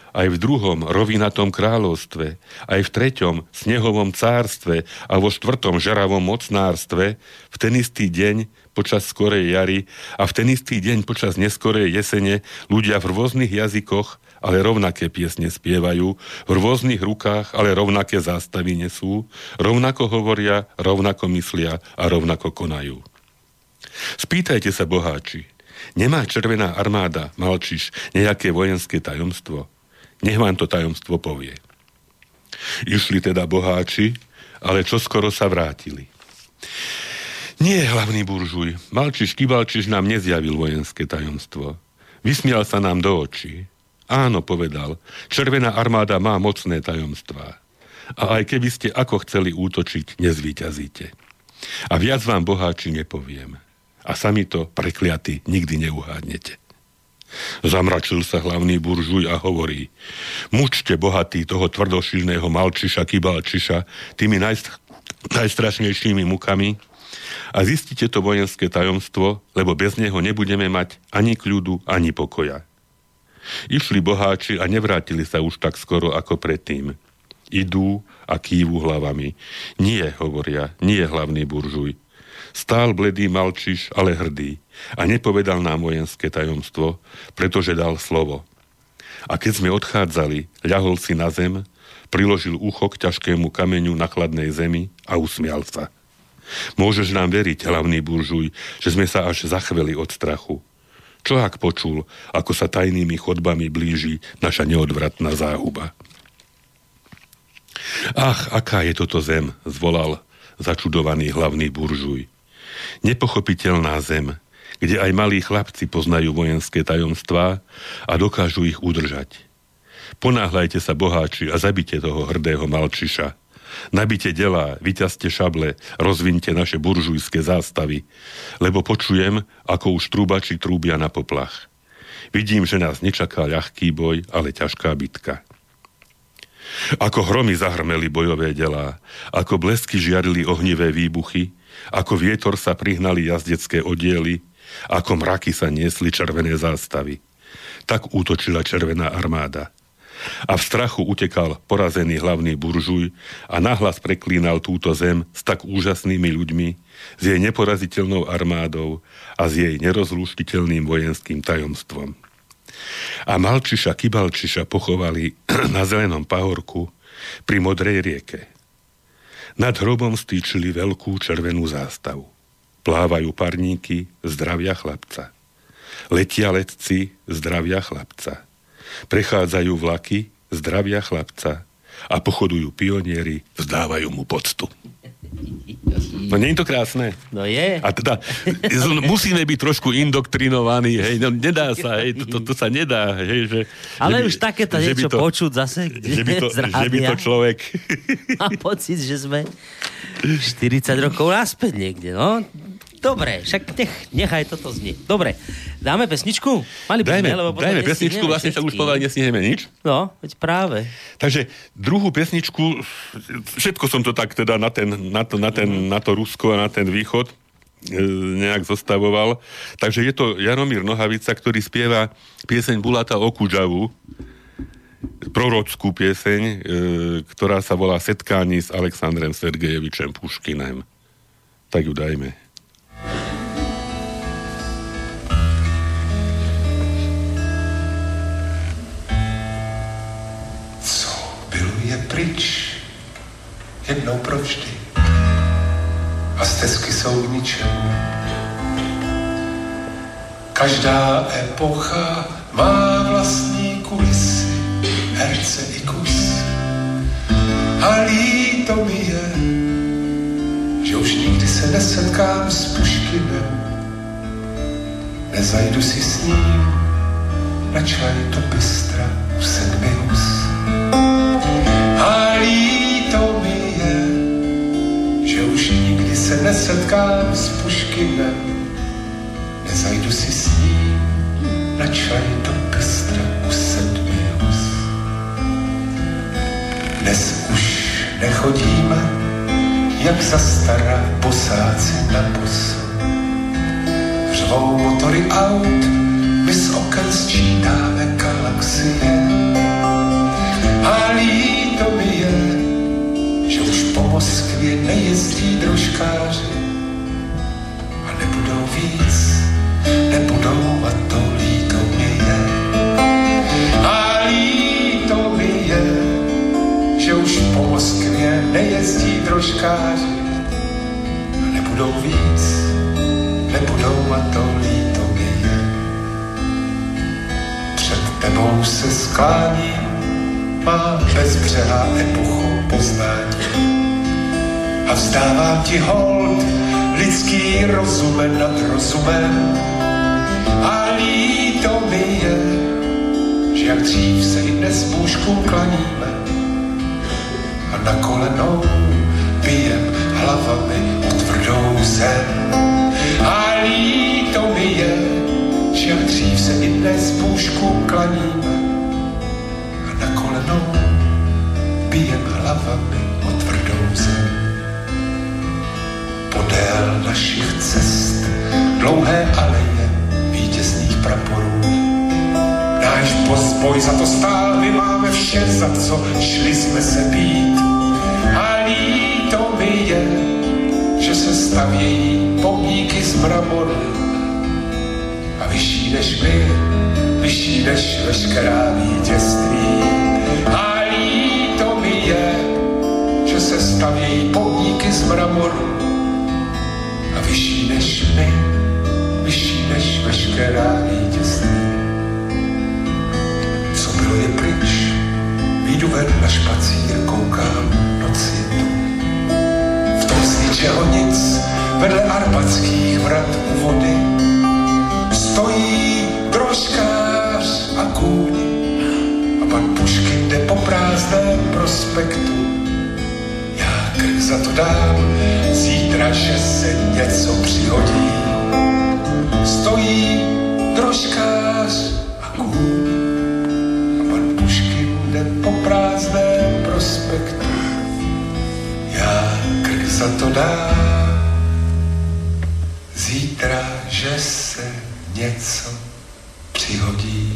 aj v druhom rovinatom kráľovstve, aj v treťom snehovom cárstve a vo štvrtom žaravom mocnárstve, v ten istý deň počas skorej jary a v ten istý deň počas neskorej jesene ľudia v rôznych jazykoch, ale rovnaké piesne spievajú, v rôznych rukách, ale rovnaké zástavy nesú, rovnako hovoria, rovnako myslia a rovnako konajú. Spýtajte sa, boháči, nemá Červená armáda, Malčiš, nejaké vojenské tajomstvo? Nech vám to tajomstvo povie. Išli teda boháči, ale čoskoro sa vrátili. Nie, hlavný buržuj, Malčiš Kibalčiš nám nezjavil vojenské tajomstvo. Vysmial sa nám do očí. Áno, povedal, Červená armáda má mocné tajomstvá. A aj keby ste ako chceli útočiť, nezvíťazíte. A viac vám, boháči, nepoviem. A sami to, prekliaty, nikdy neuhádnete. Zamračil sa hlavný buržuj a hovorí: mučte, bohatý, toho tvrdošilného Malčiša Kibalčiša tými najstrašnejšími mukami a zistite to vojenské tajomstvo, lebo bez neho nebudeme mať ani kľudu, ani pokoja. Išli boháči a nevrátili sa už tak skoro ako predtým. Idú a kývu hlavami. Nie, hovoria, nie, hlavný buržuj. Stál bledý Malčiš, ale hrdý, a nepovedal nám vojenské tajomstvo, pretože dal slovo. A keď sme odchádzali, ľahol si na zem, priložil ucho k ťažkému kameňu na chladnej zemi a usmial sa. Môžeš nám veriť, hlavný buržuj, že sme sa až zachveli od strachu. Čo ak počul, ako sa tajnými chodbami blíži naša neodvratná záhuba? Ach, aká je toto zem, zvolal začudovaný hlavný buržuj. Nepochopiteľná zem, kde aj malí chlapci poznajú vojenské tajomstvá a dokážu ich udržať. Ponáhľajte sa, boháči, a zabite toho hrdého Malčiša. Nabite delá, vyťazte šable, rozvinte naše buržujské zástavy, lebo počujem, ako už trúbači trúbia na poplach. Vidím, že nás nečaká ľahký boj, ale ťažká bitka. Ako hromy zahrmeli bojové delá, ako blesky žiarili ohnivé výbuchy, ako vietor sa prihnali jazdecké oddiely, ako mraky sa niesli červené zástavy. Tak útočila Červená armáda. A v strachu utekal porazený hlavný buržuj a nahlas preklínal túto zem s tak úžasnými ľuďmi, s jej neporaziteľnou armádou a s jej nerozlúštiteľným vojenským tajomstvom. A Malčiša Kibalčiša pochovali na zelenom pahorku pri Modrej rieke. Nad hrobom stýčili veľkú červenú zástavu. Plávajú parníky, zdravia chlapca. Letia letci, zdravia chlapca. Prechádzajú vlaky, zdravia chlapca. A pochodujú pionieri, vzdávajú mu poctu. No nie je to krásne? No je. A teda musíme byť trošku indoktrinovaní, hej, no nedá sa, hej, to sa nedá, hej, že... Ale už takéto niečo počuť zase, že by to človek... Mám pocit, že sme 40 rokov naspäť niekde, no. Dobre, však nechaj toto znieť. Dobre, dáme pesničku? Mali by sme, lebo dajme pesničku, vlastne sa už povedali, nestihneme nič. No, veď práve. Takže druhú pesničku, všetko som to tak teda na to Rusko a na ten východ nejak zostavoval. Takže je to Jaromír Nohavica, ktorý spieva pieseň Bulata Okudžavu, prorockú pieseň, ktorá sa volá Setkání s Alexandrem Sergejevičem Puškinem. Tak ju dajme. Pryč, jednou provždy a stezky jsou k ničemu. Každá epocha má vlastní kulisy, herce i kus. A líto mi je, že už nikdy se nesetkám s Puškinem. Nezajdu si s ním na čaj do bystra v Sedmi Hus. A líto mi je, že už nikdy se nesetkám s Puškinem. Nezajdu si s ním na čaj do bystra u Sedmi Hus. Dnes už nechodíme, jak za stará bosáci na boso. Řvou motory aut, my z oken sčítáme galaxie. A líto mi je, že už po Moskvě nejezdí drožkáři a nebudou víc, nebudou a to líto mi je. A líto mi je, že už po Moskvě nejezdí drožkáři a nebudou víc, nebudou a to líto mi je. Před tebou se skláním, má bezbřehá epochu poznání a vzdávám ti hold lidský rozumem nad rozumem. A líto mi je, že jak dřív se i dnes bůžkům klaníme a na kolenou bijem hlavami o tvrdou zem. A líto mi je, že jak dřív se i dnes bůžkům klaníme a na kolenou bijem hlavami o tvrdou zem. Podél našich cest dlouhé aleje vítězných praporů. Náš boj za to stál, my máme vše, za co šli jsme se být. A líto mi je, že se stavějí pomníky z mramoru a vyšší než my, vyšší než veškerá vítězství. A líto mi je, že se stavějí pomníky z mramoru a vyšší než my, vyšší než veškerá vítězství. Co bylo je pryč, výjdu ven na špacír, koukám noci. V tom z ničeho nic, vedle arbatských vrat u vody, stojí drožkář a kůň a pan Puškin jde po prázdném prospektu. Já krk za to dám, zítra, že se něco přihodí. Stojí drožkář a kůň a pan Puškin jde po prázdném prospektu. Já krk za to dám, zítra, že se něco přihodí.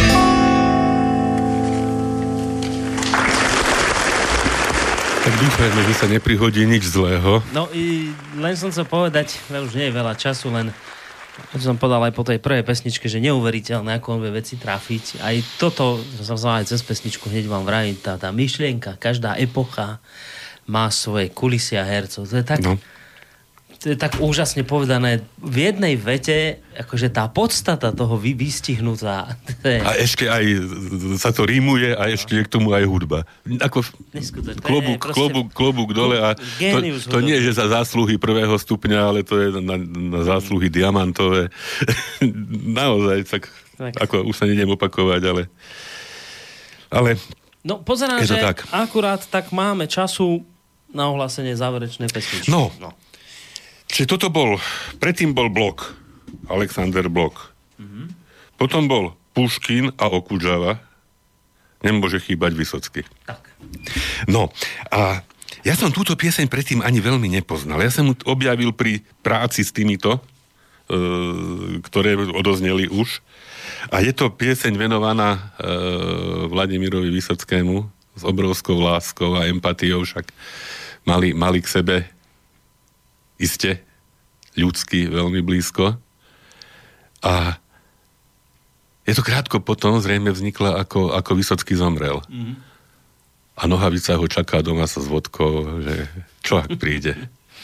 Tak dúfajme, že sa neprihodí nič zlého. No i len som chcel povedať, už nie je veľa času, len som povedal aj po tej prvej pesničke, že neuveriteľné, ako on vie veci trafiť. Aj toto, som sa aj cez pesničku hneď vám vravím, tá myšlienka, každá epocha má svoje kulisy a hercov. To je tak... No. To je tak úžasne povedané v jednej vete, akože tá podstata toho vystihnutá. Je... A ešte aj sa to rímuje a ešte je k tomu aj hudba. Ako klobúk dole a to nie je že za zásluhy prvého stupňa, ale to je na zásluhy diamantové. Naozaj, tak ako už sa nejdem opakovať, ale no pozerám, že tak. Akurát tak máme času na ohlásenie záverečnej pesničky. No. Čiže predtým bol Blok, Alexander Blok. Mm-hmm. Potom bol Puškin a Okudžava. Nemôže chýbať Vysocký. Tak. No, a ja som túto pieseň predtým ani veľmi nepoznal. Ja som ju objavil pri práci s týmito, ktoré odozneli už. A je to pieseň venovaná Vladimirovi Vysockému s obrovskou láskou a empatiou, však mali k sebe iste ľudsky veľmi blízko. A je to krátko potom, zrejme vznikla, ako Vysocký zomrel. Mm-hmm. A Nohavica ho čaká doma sa s vodkou, že čo ak príde.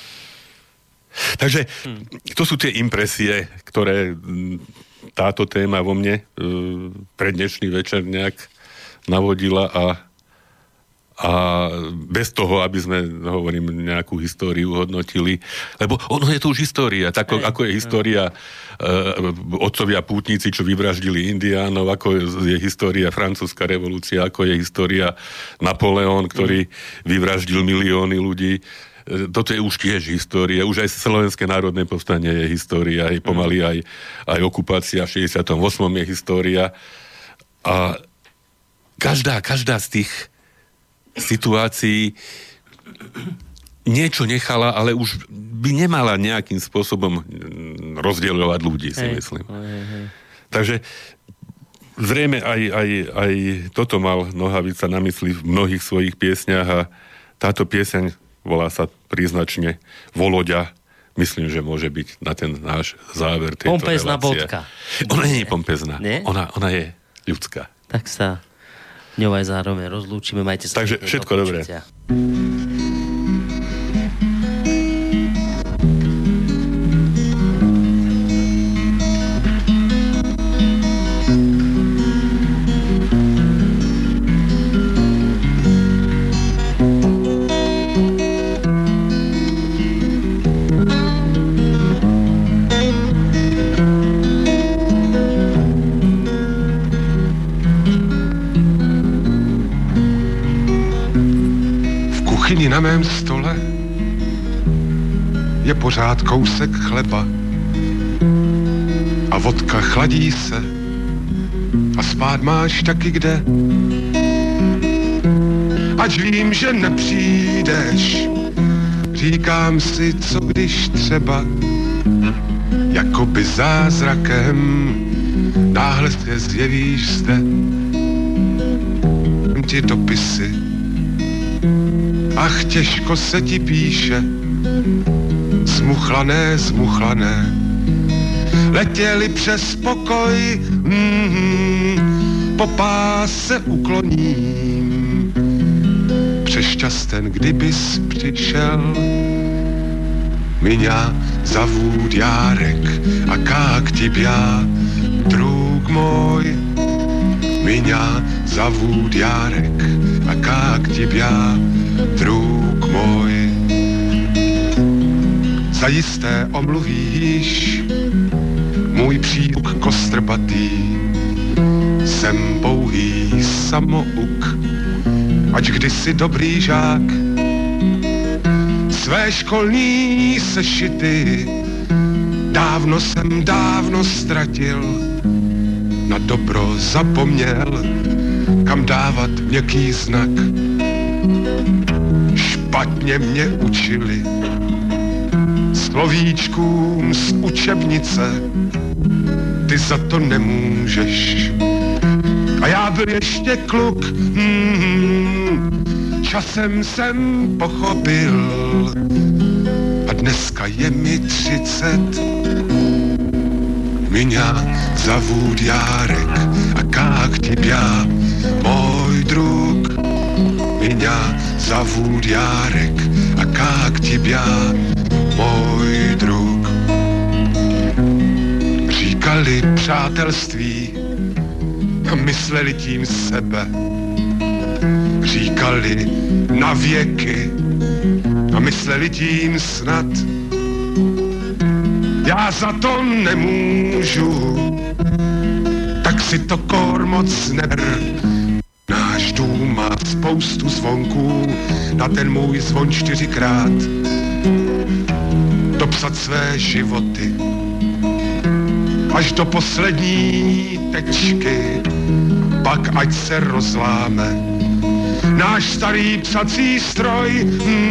Takže to sú tie impresie, ktoré táto téma vo mne pre dnešný večer nejak navodila a bez toho, aby sme, hovorím, nejakú históriu hodnotili, lebo ono je to už história, tak ako je história otcovia pútnici, čo vyvraždili Indiánov, ako je história francúzska revolúcia, ako je história Napoleon, ktorý vyvraždil milióny ľudí. Toto je už tiež história, už aj Slovenské národné povstanie je história, aj pomaly aj okupácia v 68. je história. A každá z tých situácií niečo nechala, ale už by nemala nejakým spôsobom rozdieľovať ľudí, si myslím. Takže zrejme aj toto mal Nohavica na mysli v mnohých svojich piesňach a táto pieseň volá sa príznačne Voloďa. Myslím, že môže byť na ten náš záver tejto pompezná relácie. bodka. Ona nie je pompezná. Nie? Ona je ľudská. Tak sa ňou aj zároveň rozlúčime. Majte sa. Takže všetko dobré. Na mém stole je pořád kousek chleba a vodka chladí se a spát máš taky kde. Ač vím, že nepřijdeš, říkám si, co když třeba jakoby zázrakem náhle se zjevíš zde. Ti dopisy, ach, těžko se ti píše, zmuchlané, letěli přes pokoj, po páse ukloním, přešťasten, kdybys přišel, меня зовут Ярек, а как тебя, друг мой? Меня зовут Ярek, a как тебя, друг můj? Zajisté omluvíš můj příuk kostrbatý, jsem pouhý samouk, ač kdysi dobrý žák. Své školní sešity dávno jsem ztratil, na dobro zapomněl, kam dávat měkký znak. Špatně mě učili slovíčkům z učebnice, ty za to nemůžeš. A já byl ještě kluk, časem jsem pochopil, a dneska je mi 30. Меня зовут Ярek, а как тебя, мой друг? Меня зовут Ярek, a как тебя, můj druh? Říkali přátelství a mysleli tím sebe. Říkali na věky a mysleli tím snad. Já za to nemůžu, tak si to kor moc neber. Náš dům má spoustu zvonků, na ten můj zvon 4krát dopsat své životy až do poslední tečky, pak ať se rozláme náš starý psací stroj.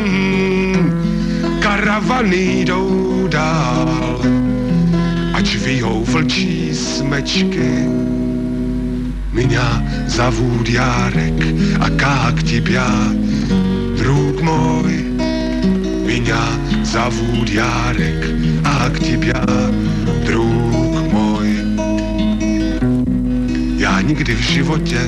Karavany jdou dál, ač vyjou vlčí smečky. Меня зовут Ярek, a как тебя, друг мой? Меня зовут Ярek, a как тебя, друг мой? Já nikdy v životě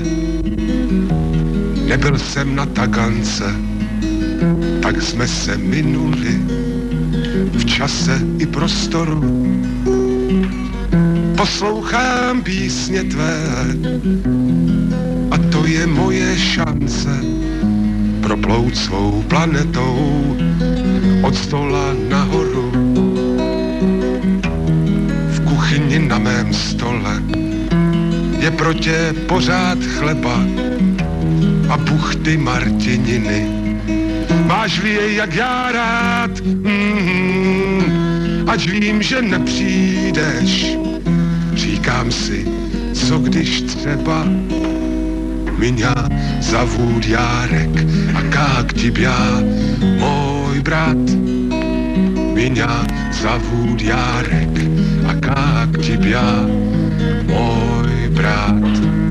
nebyl jsem na Tagance, tak jsme se minuli v čase i prostoru. Poslouchám písně tvé a to je moje šance proplout svou planetou od stola nahoru. V kuchyni na mém stole je pro tě pořád chleba a buchty martininy. Máš-li je jak já rád, ať vím, že nepřijdeš. Říkám si, co když třeba меня зовут Ярek, a как тебя, můj brat? Меня зовут Ярek, a как тебя, můj brát.